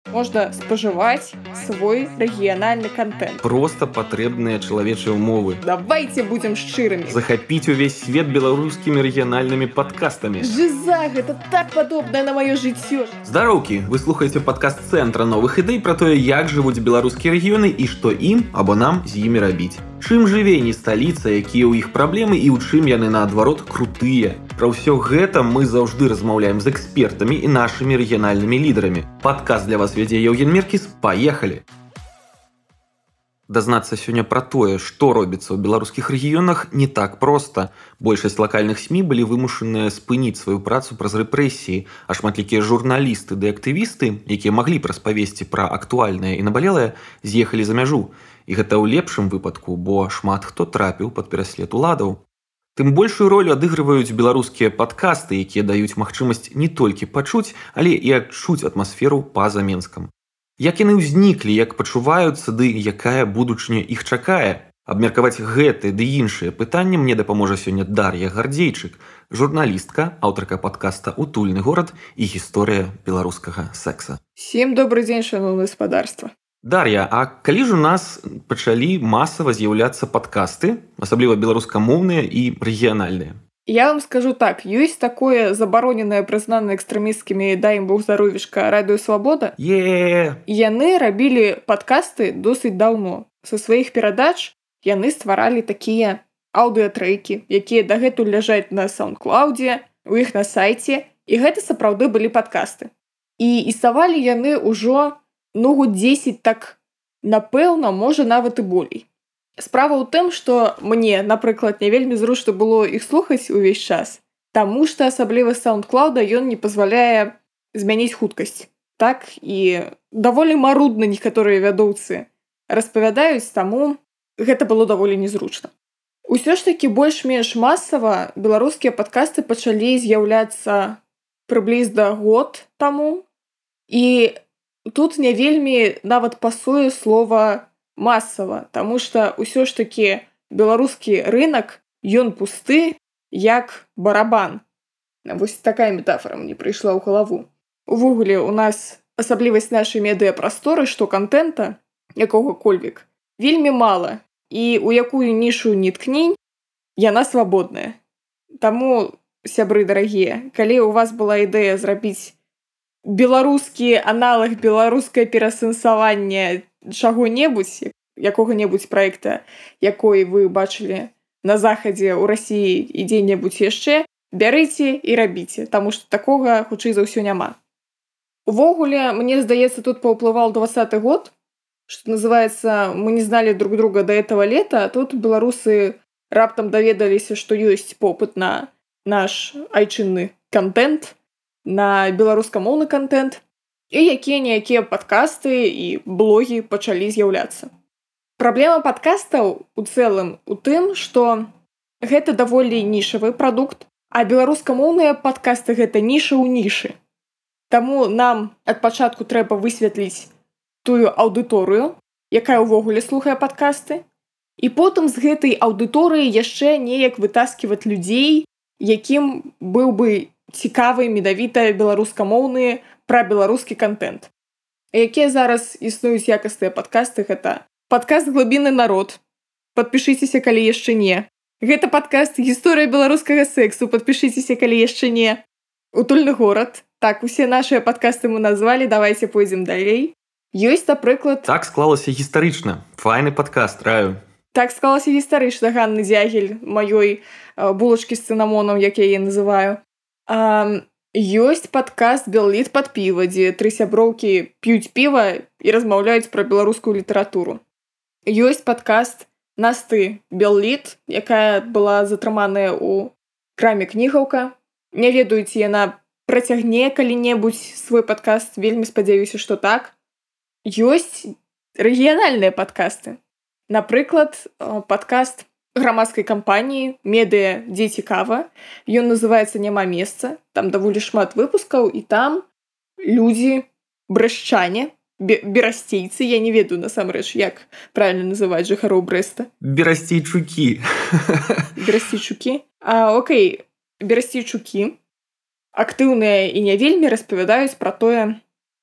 можна спажываць свой рэгіянальны контент. Проста патрэбныя чалавечыя ўмовы. Давайте будзем шчырымі. Захапіць увесь свет беларускімі рэгіянальнымі падкастамі. Жиза, гэта так падобнае на маё жыццё. Здароўкі, вы слухаеце падкаст Цэнтра новых ідэй пра тое, як жывуць беларускія рэгіёны і што ім або нам з імі рабіць. Чым жыве не сталіца, якія ў іх праблемы і ў чым яны, наадварот, крутыя. Пра ўсё гэта мы заўжды размаўляем з экспертамі і нашымі рэгіянальнымі лідарамі. Падкаст для вас вядзе Еўген Меркіс. Паехалі! Дазнацца сёння пра тое, што робіцца ў беларускіх рэгіёнах, не так проста. Большасць лакальных СМІ былі вымушаныя спыніць сваю працу праз рэпрэсіі, а шматлікія журналісты ды актывісты, якія маглі б распавесці пра актуальнае і набалелае, з'ехалі за мяжу. І гэта ў лепшым выпадку, бо шмат хто трапіў пад пераслед уладаў. Тым большую ролю адыгрываюць беларускія падкасты, якія даюць магчымасць не толькі пачуць, але і адчуць атмасферу па-за Менскам. Як яны ўзніклі, як пачуваюцца, ды якая будучыня іх чакае? Абмеркаваць гэты ды іншыя пытанні мне дапаможа сёння Дар'я Гардзейчык, журналістка, аўтарка падкаста «Утульны горад» і гісторыя беларускага секса. Всем добрый дзень, шановнае гаспадарства. Дар'я, а калі ж у нас пачалі масава з'яўляцца падкасты, асабліва беларускамоўныя і рэгіянальныя? Я вам скажу так, ёсць такое забароненае, прызнанае экстрэмісцкімі, дай ім Бог здаровішка, Радыё Свабода. Яны рабілі падкасты досыць даўно. Са сваіх перадач яны стваралі такія аўдыатрэкі, якія дагэтуль ляжаць на SoundCloud, у іх на сайце, і гэта сапраўды былі падкасты. І існавалі яны ўжо год 10, так, напэўна, можа, нават і болей. Справа ў тым, што мне, напрыклад, не вельмі зручна было іх слухаць увесь час, таму што асабліва SoundCloud ён не пазваляе змяніць хуткасць. Так, і даволі марудна некаторыя вядоўцы распавядаюць, таму гэта было даволі незручна. Усё ж такі больш-менш масава беларускія падкасты пачалі з'яўляцца прыблізна год таму, і тут не вельмі нават пасуе слова масава, таму што ўсё ж такі беларускі рынак, ён пусты, як барабан. Вось такая метафора мне прыйшла ў галаву. Увогуле, у нас асаблівасць нашай медыяпрасторы, што кантэнта, якога-кольвек, вельмі мала, і ў якую нішу не ткнень, яна свабодная. Таму, сябры дарагія, калі ў вас была ідэя зрабіць беларускі аналаг, беларускае перасэнсаванне чаго-небудзь, якога-небудзь праекта, якой вы бачылі на захадзе, ў Расіі і дзе-небудзь яшчэ, бярыце і рабіце, таму што такога, хутчэй за ўсё, няма. Увогуле, мне здаецца, тут паўплываў 20-й год, што называецца, мы не зналі друг друга до этого лета, а тут беларусы раптам даведаліся, што ёсць попыт на наш айчынны контент, на беларускамоўны контент, і якія-ніякія падкасты і блогі пачалі з'яўляцца. Праблема падкастаў у цэлым у тым, што гэта даволі нішавы прадукт, а беларускамоўныя падкасты гэта ніша ў нішы. Таму нам ад пачатку трэба высветліць тую аўдыторыю, якая ўвогуле слухае падкасты, і потым з гэтай аўдыторыі яшчэ неяк вытасківаць людзей, якім быў бы цікавы менавіта беларускамоўны пра беларускі контент. Якія зараз існуюць якасныя падкасты, гэта падкаст «Глыбінны народ». Падпішыцеся, калі яшчэ не. Гэта падкаст «Гісторыя беларускага сексу». Падпішыцеся, калі яшчэ не. «Утульны горад». Так, усе нашыя падкасты мы назвалі, давайте пойдзем далей. Ёсць, напрыклад... Так склалася гістарычна. Файны падкаст, раю. Так склалася гістарычна, Ганны Дзягель, маёй булачкі з цынамонам, як я яе называю. Ёсць падкаст «Белліт пад піва», дзе 3 сяброўкі п'юць піва і размаўляюць пра беларускую літаратуру. Ёсць падкаст Насты Белліт, якая была затрыманая ў краме «Кнігаўка». Не ведаю, ці яна працягне калі-небудзь свой падкаст, вельмі спадзяюся, што так. Ёсць рэгіянальныя падкасты. Напрыклад, падкаст грамадскай кампаніі «Медыа, дзе цікава». Ён называецца «Няма месца». Там даволі шмат выпускаў, і там людзі брэшчане, берасцейцы, я не ведаю насамрэч, як правильно называць жыхароў Брэста. Берасцейчукі. Берасцейчукі? Окей, берасцейчукі актыўныя і не вельмі распавядаюць пра тое,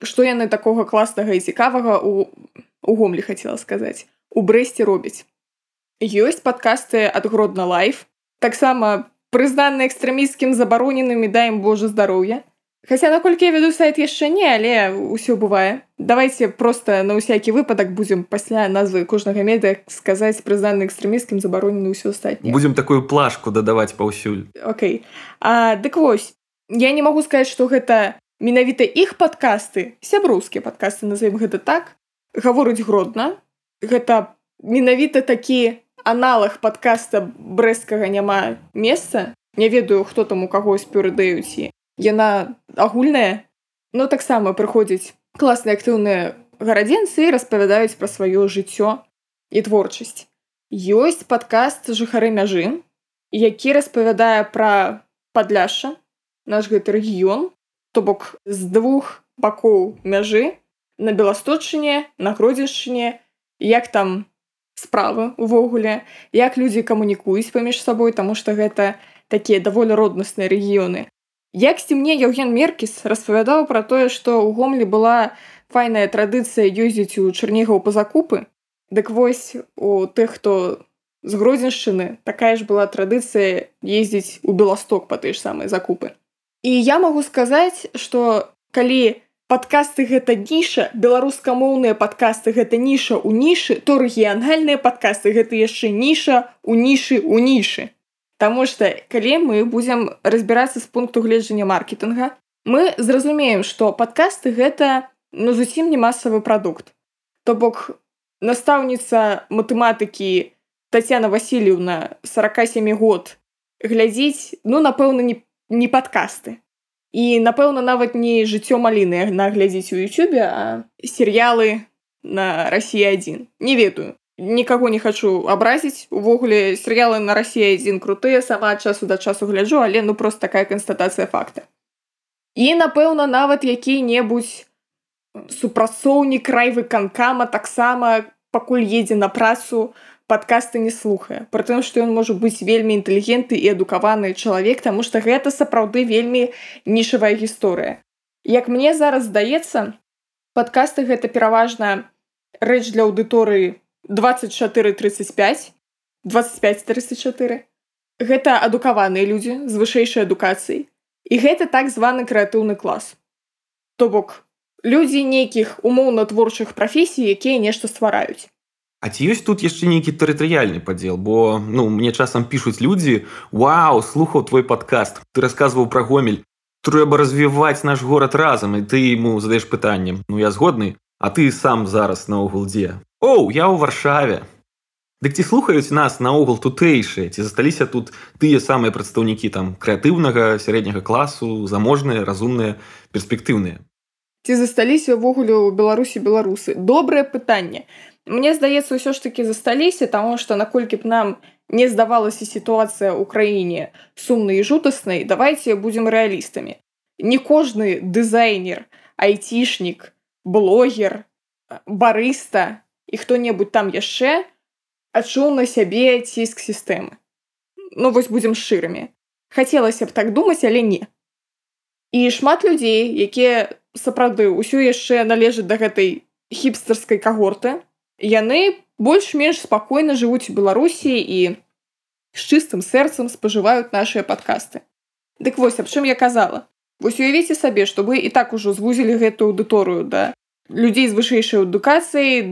што яны такога класнага і цікавага у Гомлі, хацела сказаць, у Брэсце робяць. Ёсць падкасты ад Гродна Лайф, таксама прызнаны экстрэмісцкім, забароненым, і дай ім Божа здароўя. Хаця, наколькі я веду сайт, яшчэ не, але ўсё бывае. Давайце проста на ўсякі выпадак будзем пасля назвы кожнага медыа сказаць прызнаны экстрэмісцкім, забаронены ўсё астатняе. Будзем такую плашку дадаваць паўсюль. Окей. Дык вось, я не магу сказаць, што гэта менавіта іх падкасты, сяброўскія падкасты, назовем гэта так, гаворыць Гродна. Гэта менавіта такі аналаг падкаста брэсцкага няма месца. Не ведаю, хто там у каго спёрыдаюць. Яна агульная, но таксама прыходзяць класныя актыўныя гарадзенцы і распавядаюць пра сваё жыццё і творчасць. Ёсць падкаст «Жыхары мяжы», які распавядае пра Падляшша, наш гэты рэгіён, то бок з двух бакоў мяжы, на Беласточчыне, на Гродзеншчыне, як там справы увогуле, як людзі камунікуюць паміж сабой, таму што гэта такія даволі роднасныя рэгіёны. Яксьці мне Яўген Меркіс распавядаў пра тое, што ў Гомлі была файная традыцыя ездзіць у Чарнігаў па закупы. Дык вось, у тых, хто з Гродзеншчыны, такая ж была традыцыя ездзіць у Беласток па тыя ж самыя закупы. І я магу сказаць, што калі падкасты гэта ніша, беларускамоўныя падкасты гэта ніша ў нішы, то рэгіянальныя падкасты гэта яшчэ ніша ў нішы ў нішы. Таму што, калі мы будзем разбірацца з пункту гледжання маркетынга, мы зразумеем, што падкасты гэта зусім не масавы прадукт. То бок, настаўніца матэматыкі Тацяна Васильевна, 47 год, глядзіць, напэўна, не падкасты. І, напэўна, нават не «Жыццё маліны» наглядзіць у Ютубе, а серыялы на Расія-1. Не ведаю. Нікаго не хачу абразіць. Увогуле, серыялы на Расія-1 крутыя, сама ад часу да часу гляджу, але проста такая канстатацыя факта. І, напэўна, нават які-небудзь супрацоўнік райвыканкама таксама, пакуль едзе на працу, падкасты не слухае. Прытым, што ён можа быць вельмі інтэлігентны і адукаваны чалавек, таму што гэта сапраўды вельмі нішавая гісторыя. Як мне зараз здаецца, падкасты гэта пераважна рэч для аўдыторыі 24-35, 25-34. Гэта адукаваныя людзі з вышэйшай адукацыяй. І гэта так званы крэатыўны клас. То бок, людзі нейкіх умоўна-творчых прафесій, якія нешта ствараюць. А ці ёсць тут яшчэ нейкі тэрытарыяльны падзел? Бо, мне часам пішуць людзі: «Вау, слухаў твой падкаст, ты расказваў пра Гомель, трэба развіваць наш горад разам», і ты яму задаеш пытанне: «Я згодны, а ты сам зараз наогул дзе?» «Оу, я ў Варшаве». Дык ці слухаюць нас наогул тутэйшыя? Ці засталіся тут тыя самыя прадстаўнікі крэатыўнага, сярэдняга класу, заможныя, разумныя, перспектыўныя? Ці засталіся ўвогуле ў Беларусі беларусы? Добрае пытанне. Мне здаецца, ўсё ж такі засталіся, таму што наколькі б нам не здавалася сітуацыя ў краіне сумнай і жудаснай, давайце будзем рэалістамі. Не кожны дызайнер, айцішнік, блогер, барыста і хто-небудзь там яшчэ адчуў на сябе ціск сістэмы. Вось будзем шчырымі. Хацелася б так думаць, але не. І шмат людзей, якія сапраўды ўсё яшчэ належаць да гэтай хіпстарскай кагорты, яны больш-менш спакойна жывуць у Беларусі і з чыстым сэрцам спажываюць нашыя падкасты. Дык вось, аб чым я казала. Вось уявіце сабе, што вы і так ужо звузілі гэтую аўдыторыю да людзей з вышэйшай адукацыяй,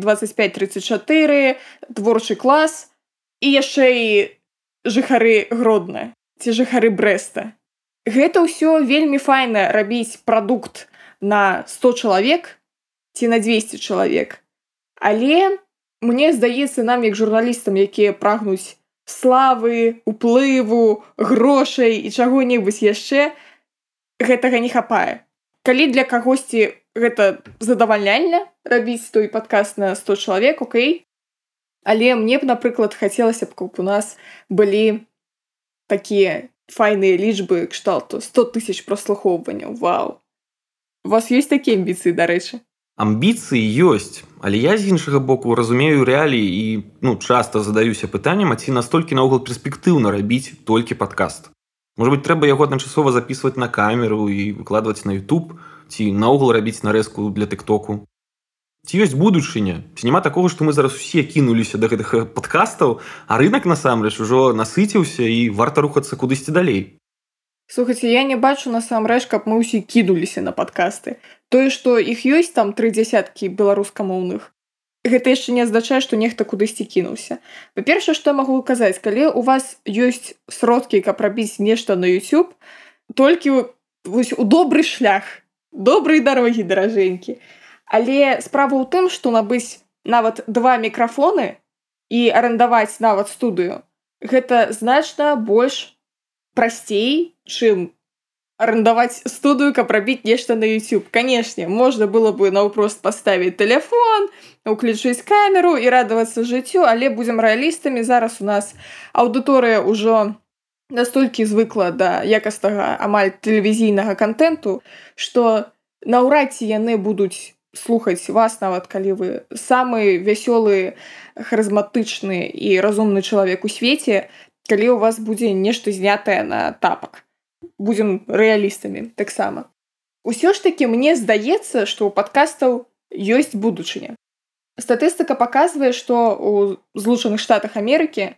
25-34, творчы клас, і яшчэ і жыхары Гродна, ці жыхары Брэста. Гэта ўсё вельмі файна рабіць прадукт на 100 чалавек ці на 200 чалавек. Але мне здаецца, нам, як журналістам, якія прагнуць славы, уплыву, грошай і чаго-небудзь яшчэ, гэтага не хапае. Калі для кагосьці гэта задавальняльна рабіць той падкаст на 100 чалавек, окей. Але мне б, напрыклад, хацелася б, каб у нас былі такія файныя лічбы кшталту 100 000 праслухоўванняў. Вау! У вас ёсць такія амбіцыі, дарэчы? Амбіцыі ёсць, але я з іншага боку разумею рэаліі і часта задаюся пытаннем, а ці настолькі наогул перспектыўна рабіць толькі падкаст. Можа быць, трэба яго адначасова запісваць на камеру і выкладваць на YouTube. ці наогул рабіць нарэзку для тыктоку. Ці ёсць будучыня? Ці няма такога, што мы зараз усе кінуліся да гэтых падкастаў, а рынак насамрэч ужо насыціўся і варта рухацца кудысьці далей? Слухайце, я не бачу насамрэч, каб мы ўсе кінуліся на падкасты. Тое, што іх ёсць там 30 беларускамоўных, гэта яшчэ не азначае, што нехта кудысьці кінуўся. Па-першае, што я магу казаць, калі ў вас ёсць сродкі, каб рабіць нешта на YouTube, толькі вось у добры шлях, добрыя дарогі, даражэнькі. Але справа ў тым, што набыць нават 2 мікрафоны і арендаваць нават студыю, гэта значна больш прасцей, чым арендаваць студыю, каб рабіць нешта на YouTube. Канешне, можна было бы наўпрост паставіць тэлефон, уключыць камеру і радавацца жыццю, але будзем рэалістамі, зараз у нас аўдыторыя ўжо настолькі звыкла да якаснага амаль тэлевізійнага кантэнту, што наўрад ці яны будуць слухаць вас, нават калі вы самы вясёлы, харызматычны і разумны чалавек у свеце, калі ў вас будзе нешта знятае на тапак. Будзем рэалістамі таксама. Усё ж такі мне здаецца, што ў падкастаў ёсць будучыня. Статыстыка паказвае, што ў Злучаных Штатах Амерыкі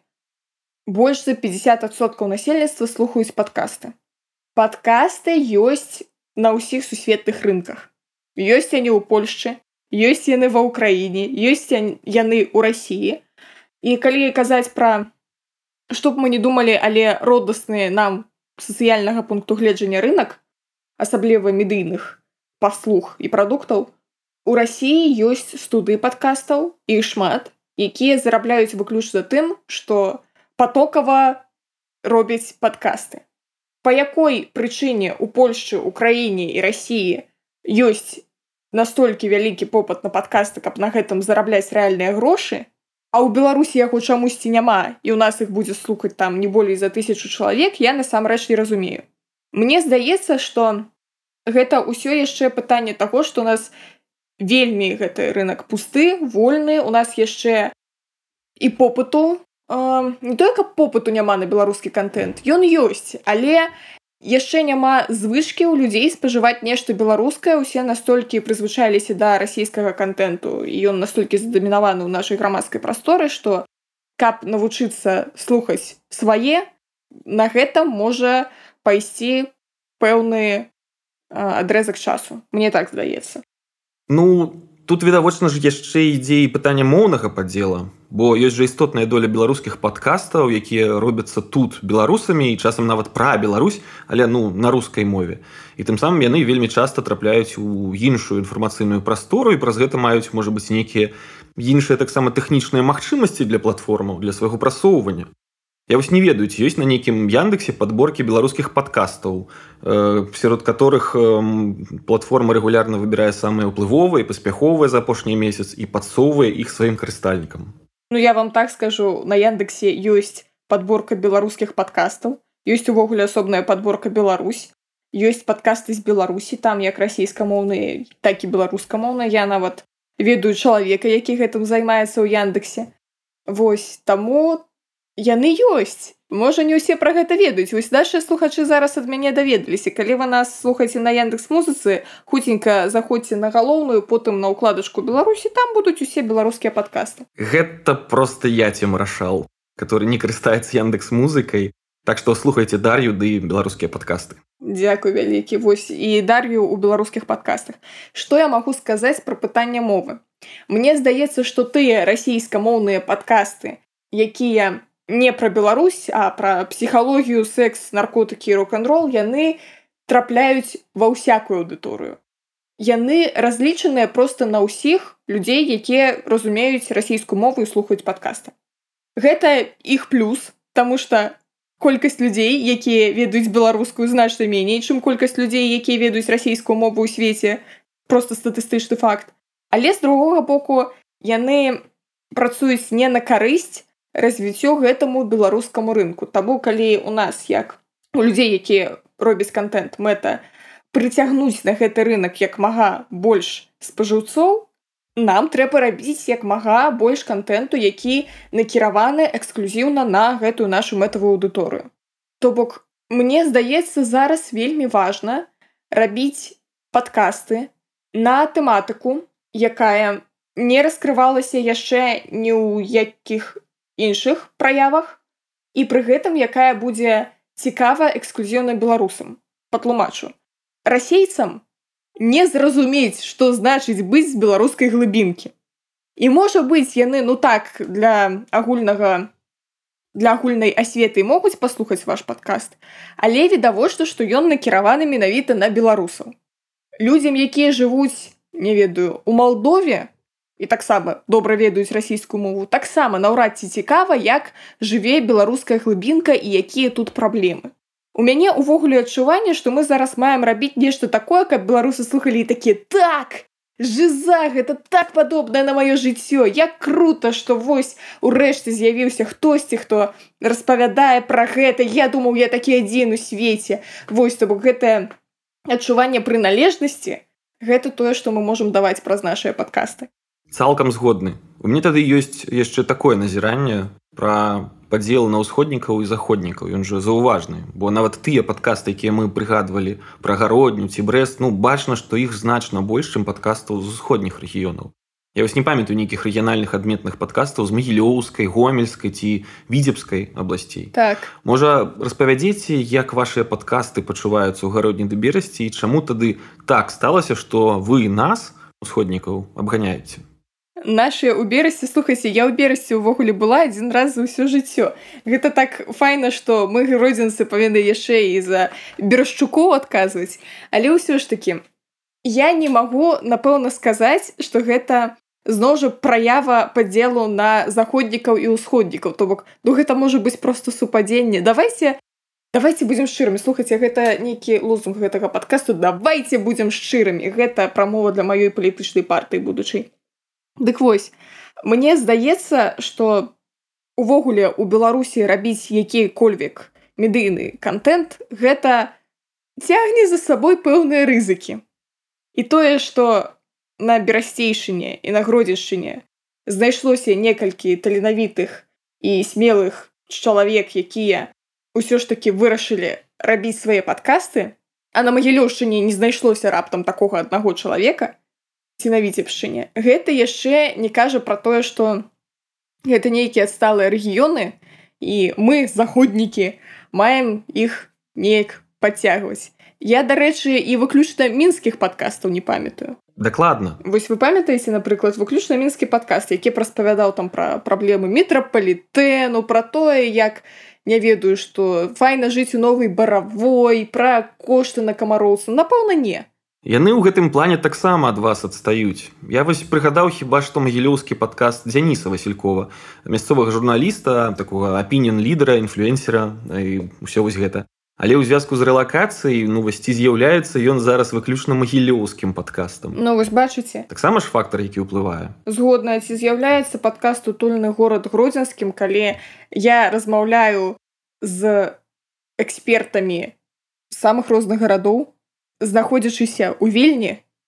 больш за 50% насельніцтва слухаюць падкасты. Падкасты ёсць на ўсіх сусветных рынках. Ёсць яны ў Польшчы, ёсць яны ва ўкраіне, ёсць яны ў Расіі. І калі казаць пра, што б мы не думалі, але родасны нам сацыяльнага пункту гледжання рынак, асабліва медыйных паслуг і прадуктаў, у Расіі ёсць студыі падкастаў, іх шмат, якія зарабляюць выключна тым, што патокава робяць падкасты. Па якой прычыне ў Польшчы, Украіне і Расіі ёсць настолькі вялікі попыт на падкасты, каб на гэтым зарабляць рэальныя грошы, а ў Беларусі яго чамусьці няма, і ў нас іх будзе слухаць там не болей за 1000 чалавек, я насамрэч не разумею. Мне здаецца, што гэта ўсё яшчэ пытанне таго, што у нас вельмі гэты рынак пусты, вольны, у нас яшчэ і попыту, не тое, каб попыту няма на беларускі кантэнт, ён ёсць, але яшчэ няма звычкі ў людзей спажываць нешта беларускае, усе настолькі прызвычаіліся да расійскага кантэнту, і ён настолькі задамінаваны ў нашай грамадскай прасторы, што каб навучыцца слухаць свае, на гэта можа пайсці пэўны адрэзак часу. Мне так здаецца. Ну, тут відавочна ж яшчэ ідзе і пытанне моўнага падзела, бо ёсць жа істотная доля беларускіх падкастаў, якія робяцца тут беларусамі і часам нават пра Беларусь, але на рускай мове. І тым самым яны вельмі часта трапляюць у іншую інфармацыйную прастору і праз гэта маюць, можа быць, нейкія іншыя таксама тэхнічныя магчымасці для платформаў, для свайго прасоўвання. Я вось не ведаю, ці ёсць на нейкім Яндексе падборкі беларускіх падкастаў, сярод которых платформа рэгулярна выбірае самыя ўплывовыя і паспяховыя за апошні месяц і падсоўвае іх сваім карыстальнікам. Я вам так скажу, на Яндексе ёсць падборка беларускіх падкастаў, ёсць увогуле асобная падборка Беларусь, ёсць падкасты з Беларусі, там як расійскамоўныя, так і беларускамоўныя. Я нават ведаю чалавека, які гэтым займаецца ў Яндексе. Вось, таму яны ёсць. Можа, не ўсе пра гэта ведаюць. Вось нашы слухачы зараз ад мяне даведаліся. Калі вы нас слухаеце на Яндекс.Музыцы, хуценька заходзьце на галоўную, потым на ўкладачку Беларусі, там будуць усе беларускія падкасты. Гэта проста я цем рашал, который не карыстаецца Яндекс.Музыкай. Так што слухайце Дар'ю ды беларускія падкасты. Дзякуй вялікі. Вось і Дар'ю ў беларускіх падкастах. Што я магу сказаць пра пытанне мовы? Мне здаецца, што тыя расійскамоўныя падкасты, якія не пра Беларусь, а пра псіхалогію, секс, наркотыкі і рок-н-рол, яны трапляюць ва ўсякую аўдыторыю. Яны разлічаныя проста на ўсіх людзей, якія разумеюць расійскую мову і слухаюць падкасты. Гэта іх плюс, таму што колькасць людзей, якія ведаюць беларускую, значна меней, чым колькасць людзей, якія ведаюць расійскую мову ў свеце. Проста статыстычны факт. Але з другога боку, яны працуюць не на карысць развіццё гэтаму беларускаму рынку. Таму, калі у нас, як у людзей, якія робяць кантэнт, мэта прыцягнуць на гэты рынак як мага больш спажыўцоў, нам трэба рабіць як мага больш кантэнту, які накіраваны эксклюзіўна на гэтую нашу мэтавую аўдыторыю. То бок, мне здаецца, зараз вельмі важна рабіць падкасты на тэматыку, якая не раскрывалася яшчэ ні ў якіх іншых праявах, і пры гэтым якая будзе цікава эксклюзіўна беларусам. Патлумачу. Расейцам не зразумець, што значыць быць з беларускай глыбінкі. І можа быць, яны, для агульнай асветы могуць паслухаць ваш падкаст, але відавочна, што ён накіраваны менавіта на беларусаў. Людзям, якія жывуць, не ведаю, у Малдове, і таксама добра ведаюць расійскую мову, таксама наўрад ці цікава, як жыве беларуская глыбінка і якія тут праблемы. У мяне ўвогуле адчуванне, што мы зараз маем рабіць нешта такое, каб беларусы слухалі і такія: так, жиза, гэта так падобнае на маё жыццё, як крута, што вось урэшце з'явіўся хтосьці, хто распавядае пра гэта, я думаў, я такі адзін у свеце. Вось, то бок гэтае адчуванне прыналежнасці, гэта тое, што мы можам даваць праз нашыя падкасты. Цалкам згодны. У мяне тады ёсць яшчэ такое назіранне пра падзел на ўсходнікаў і заходнікаў. Ён жа заўважны, бо нават тыя падкасты, якія мы прыгадвалі пра Гародню ці Брэст, бачна, што іх значна больш, чым падкастаў з усходніх рэгіёнаў. Я вось не памятаю нейкіх рэгіянальных адметных падкастаў з Магілёўскай, Гомельскай ці Віцебскай абласцей. Так. Можа, распавядзеце, як вашыя падкасты пачуваюцца ў Гародні ды Берасці, і чаму тады так сталася, што вы нас, усходнікаў, абганяеце? Нашыя ў Берасці, слухайце, я ў Берасці ўвогуле была адзін раз за ўсё жыццё. Гэта так файна, што мы, гродзенцы, павінны яшчэ і за берашчукоў адказваць. Але ўсё ж такі, я не магу, напэўна, сказаць, што гэта зноў жа праява падзелу на заходнікаў і ўсходнікаў. То бок, гэта можа быць проста супадзенне. Давайце будзем шчырымі. Слухайце, гэта нейкі лозунг гэтага падкасту. Давайце будзем шчырымі. Гэта прамова для маёй палітычнай партыі будучай. Дык вось, мне здаецца, што увогуле ў Беларусі рабіць які-кольвек медыйны кантэнт, гэта цягне за сабой пэўныя рызыкі. І тое, што на Берасцейшыне і на Гродзеншчыне знайшлося некалькі таленавітых і смелых чалавек, якія ўсё ж такі вырашылі рабіць свае падкасты, а на Магілёўшчыне не знайшлося раптам такога аднаго чалавека, ці на Віцебшчыне. Гэта яшчэ не кажа пра тое, што гэта нейкія адсталыя рэгіёны, і мы, заходнікі, маем іх неяк падцягваць. Я, дарэчы, і выключна мінскіх падкастаў не памятаю. Дакладна. Вось вы памятаеце, напрыклад, выключна мінскі падкаст, які распавядаў там пра праблемы метрапалітэну, пра тое, як, не ведаю, што файна жыць у новай Баравой, пра кошты на камароўцу. Напэўна, не. Яны ў гэтым плане таксама ад вас адстаюць. Я вось прыгадаў хіба што магілёўскі падкаст Дзяніса Васількова, мясцовага журналіста, такога апініён-лідера, інфлюэнсера і ўсё вось гэта. Але ў звязку з рэлакацыяй, ці з'яўляецца ён зараз выключна магілёўскім падкастам. Вось бачыце. Таксама ж фактар, які ўплывае. Згодна, ці з'яўляецца падкаст «Утульны горад Гродзенскім», калі я размаўляю з экспертамі з самых розных гарадоў, знаходзячыся ў Вільні,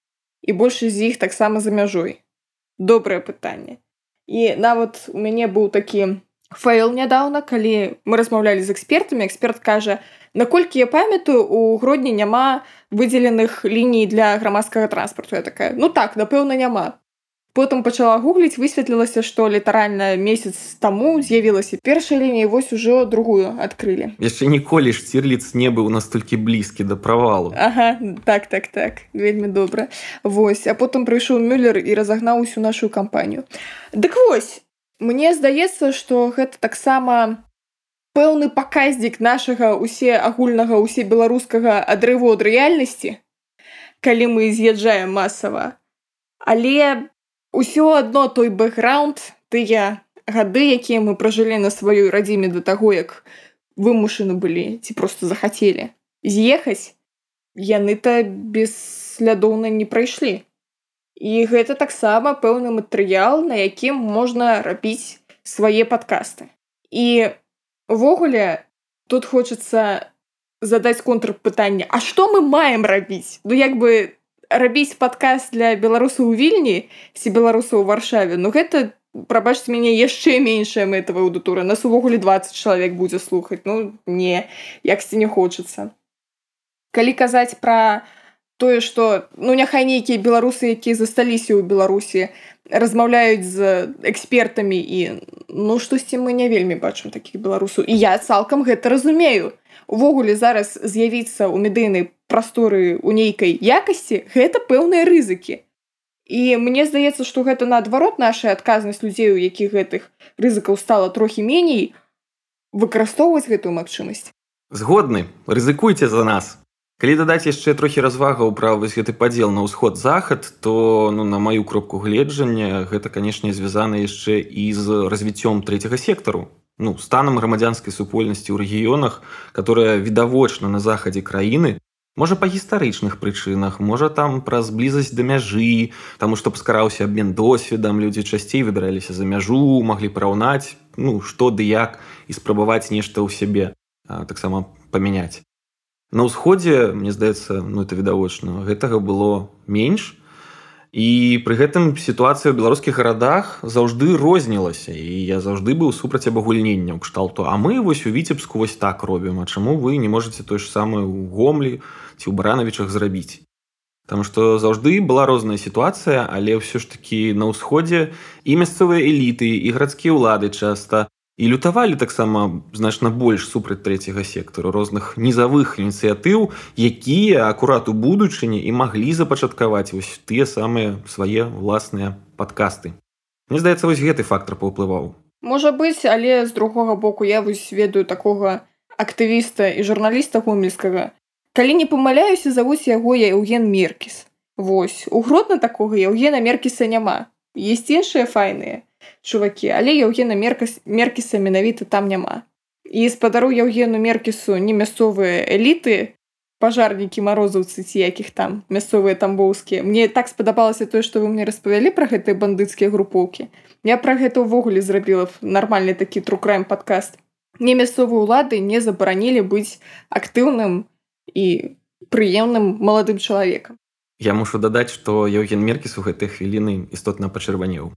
і большасць з іх таксама за мяжой. Добрае пытанне. І нават у мяне быў такі фэйл нядаўна, калі мы размаўлялі з экспертамі, эксперт кажа: наколькі я памятаю, у Гродні няма выдзеленых ліній для грамадскага транспарту. Я такая: так, напэўна, няма. Потым пачала гугліць, высветлілася, што літаральна месяц таму з'явілася першая лінія, і вось ужо другую адкрылі. Яшчэ ніколі Штірліц не быў настолькі блізкі да правалу. Ага, так, вельмі добра. Вось, а потым прыйшоў Мюллер і разагнаў усю нашу кампанію. Дык вось, мне здаецца, што гэта таксама пэўны паказнік нашага усеагульнага, усебеларускага адрыву ад рэальнасці, калі мы з'язджаем масава. Але ўсё адно той бэкграунд, тыя гады, якія мы пражылі на сваёй радзіме да таго, як вымушаны былі ці проста захацелі з'ехаць, яны-то бесслядоўна не прайшлі. І гэта таксама пэўны матэрыял, на якім можна рабіць свае падкасты. І увогуле тут хочацца задаць контрпытанне: а што мы маем рабіць? Рабіць падкаст для беларусаў у Вільні ці беларусаў у Варшаве, гэта, прабачце мяне, яшчэ меншая мэтавая аўдыторыя. Нас увогуле 20 чалавек будзе слухаць. Не, яксьці не хочацца. Калі казаць пра тое, што няхай нейкія беларусы, якія засталіся ў Беларусі, размаўляюць з экспертамі і штосьці мы не вельмі бачым такіх беларусаў. І я цалкам гэта разумею. Увогуле зараз з'явіцца ў медыйнай прасторы ў нейкай якасці гэта пэўныя рызыкі. І мне здаецца, што гэта наадварот наша адказнасць людзей, у якіх гэтых рызыкаў стала трохі меней, выкарыстоўваць гэтую магчымасць. Згодны, рызыкуйце за нас. Калі дадаць яшчэ трохі развагаў пра вось гэты падзел на ўсход-захад, то на маю кропку гледжання гэта, канешне, звязана яшчэ і з развіццём трэцяга сектару. Станам грамадзянскай супольнасці ў рэгіёнах, которая відавочна на захадзе краіны, можа па гістарычных прычынах, можа там праз блізасць да мяжы, таму што паскараўся абмен досведам, людзі часцей выбіраліся за мяжу, маглі параўнаць, што ды як, і спрабаваць нешта ў сябе таксама памяняць. На ўсходзе, мне здаецца, это відавочна, гэтага было менш. І пры гэтым сітуацыя ў беларускіх гарадах заўжды рознілася. І я заўжды быў супраць абагульнення ў кшталту. А мы вось у Віцебску вось так робім. А чаму вы не можаце тое ж самае ў Гомлі ці ў Баранавічах зрабіць? Таму што заўжды была розная сітуацыя, але ўсё ж такі на ўсходзе і мясцовыя эліты, і гарадскія ўлады часта і лютавалі таксама значна больш супраць трэцяга сектару розных нізавых ініцыятыў, якія акурат у будучыні і маглі запачаткаваць вось тыя самыя свае ўласныя падкасты. Мне здаецца, вось гэты фактар паўплываў. Можа быць, але з другога боку я вось ведаю такога актывіста і журналіста гомельскага. Калі не памыляюся, завуць яго Яўген Меркіс. Вось, у Гродна такога Яўгена Меркіса няма. Ёсць іншыя файныя чувакі, але Яўгена Меркіса менавіта там няма. І спадару Яўгену Меркісу не мясцовыя эліты, пажарнікі, марозаўцы ці якіх там, мясцовыя тамбоўскія. Мне так спадабалася тое, што вы мне распавялі пра гэтыя бандыцкія групоўкі. Я пра гэта ўвогуле зрабіла нармальны такі тру-крайм падкаст. Мне мясцовыя ўлады не забаранілі быць актыўным і прыемным маладым чалавекам. Я мушу дадаць, што Яўген Меркіс у гэтыя хвіліны істотна пачырванеў.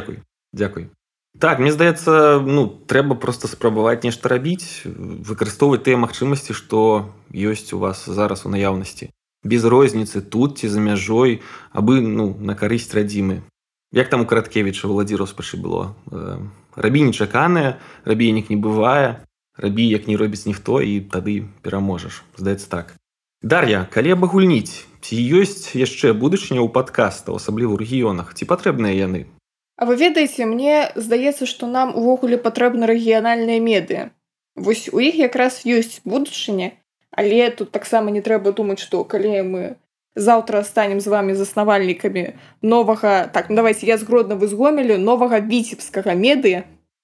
Дзякуй. Так, мне здаецца, трэба проста спрабаваць нешта рабіць, выкарыстоўваць тыя магчымасці, што ёсць у вас зараз у наяўнасці. Без розніцы тут ці за мяжой, абы, на карысць радзімы. Як там у Караткевіча «Валадзі роспачы» было? Рабі нечаканае, рабі як не бывае, рабі як не робіць ніхто, і тады пераможаш. Здаецца так. Дар'я, калі абагульніць, ці ёсць яшчэ будучыня ў падкастаў, асабліва ў рэгіёнах, ці патрэбныя яны? А вы ведаеце, мне здаецца, што нам увогуле патрэбны рэгіянальныя медыа. Вось у іх якраз ёсць будучыня, але тут таксама не трэба думаць, што калі мы заўтра станем з вамі заснавальнікамі новага, давайте я з Гродна, вы з Гомелю, новага віцебскага медыа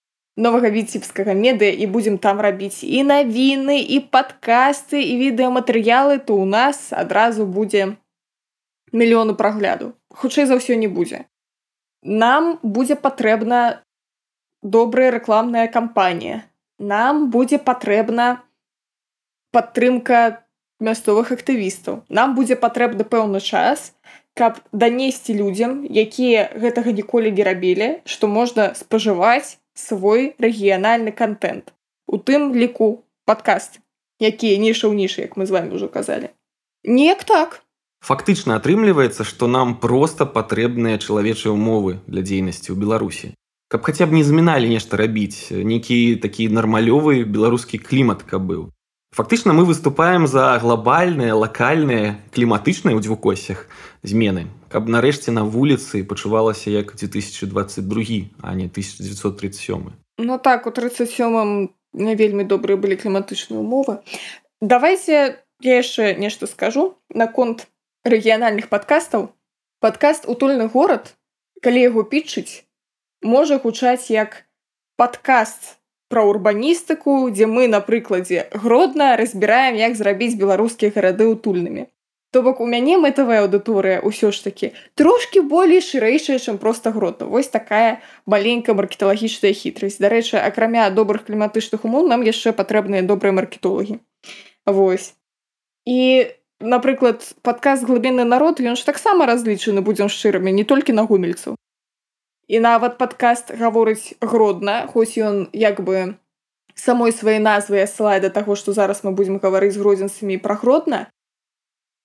і будзем там рабіць і навіны, і падкасты, і відэаматэрыялы, то ў нас адразу будзе мільёны прагляду. Хутчэй за ўсё не будзе. Нам будзе патрэбна добрая рэкламная кампанія. Нам будзе патрэбна падтрымка мясцовых актывістаў. Нам будзе патрэбны пэўны час, каб данесці людзям, якія гэтага ніколі не рабілі, што можна спажываць свой рэгіянальны кантэнт. У тым ліку падкасты, якія ніша ў нішы, як мы з вамі ўжо казалі. Неяк так. Фактычна атрымліваецца, што нам проста патрэбныя чалавечыя ўмовы для дзейнасці ў Беларусі. Каб хаця б не заміналі нешта рабіць, нейкі такі нармалёвы беларускі клімат каб быў. Фактычна мы выступаем за глобальныя, лакальныя, кліматычныя ў двукосях змены, каб нарэшце на вуліцы пачувалася як 2022, а не 1937. Так, у 37-м не вельмі добрыя былі кліматычныя ўмовы. Давайце я яшчэ нешта скажу наконт рэгіянальных падкастаў. Падкаст «Утульны горад», калі яго пітчыць, можа гучаць як падкаст пра урбаністыку, дзе мы, на прыкладзе Гродна, разбіраем, як зрабіць беларускія гарады утульнымі. То бок у мяне мэтавая аўдыторыя ўсё ж такі трошкі болей шырэйшая, чым проста Гродна. Вось такая маленькая маркеталагічная хітрасць. Дарэчы, акрамя добрых кліматычных умоў, нам яшчэ патрэбныя добрыя маркетолагі. Вось. І, напрыклад, падкаст «Глыбінны народ», ён ж таксама разлічаны, будзем шчырымі, не толькі на гомельцаў. І нават падкаст гаворыць Гродна, хоць ён як бы самой сваёй назвай асылае да таго, што зараз мы будзем гаварыць з гродзенцамі пра Гродна.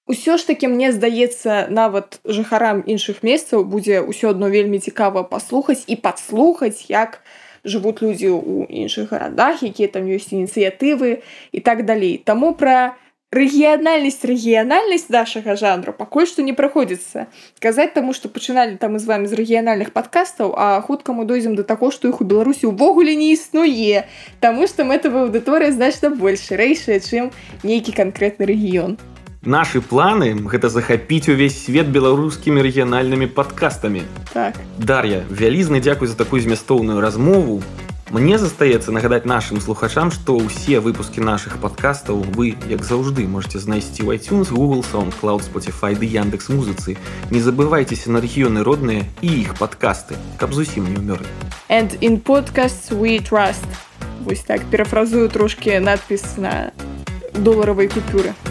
Усё ж такі, мне здаецца, нават жыхарам іншых месцаў будзе ўсё адно вельмі цікава паслухаць і падслухаць, як жывуць людзі ў іншых гарадах, якія там ёсць ініцыятывы і так далей. Таму пра рэгіянальнасць нашага жанру пакуль што не прыходзіцца казаць, таму што пачыналі там мы з вамі з рэгіянальных падкастаў, а хутка мы дойдзем да таго, што іх у Беларусі ўвогуле не існуе, таму што мэтавая аўдыторыя значна больш шырэйшая, чым нейкі канкрэтны рэгіён. Нашы планы – гэта захапіць увесь свет беларускімі рэгіянальнымі падкастамі. Так. Дар'я, вялізны дзякуй за такую змястоўную размову. Мне застаецца нагадаць нашым слухачам, што ўсе выпускі нашых падкастаў вы, як заўжды, можете знайсці ў iTunes, Google, SoundCloud, Spotify ды Яндекс.Музыцы. Не забывайцеся на рэгіёны родныя і іх падкасты, каб зусім не ўмёрли. And in podcasts we trust. Вось так, перафразую трошкі надпіс на доларавай купюры.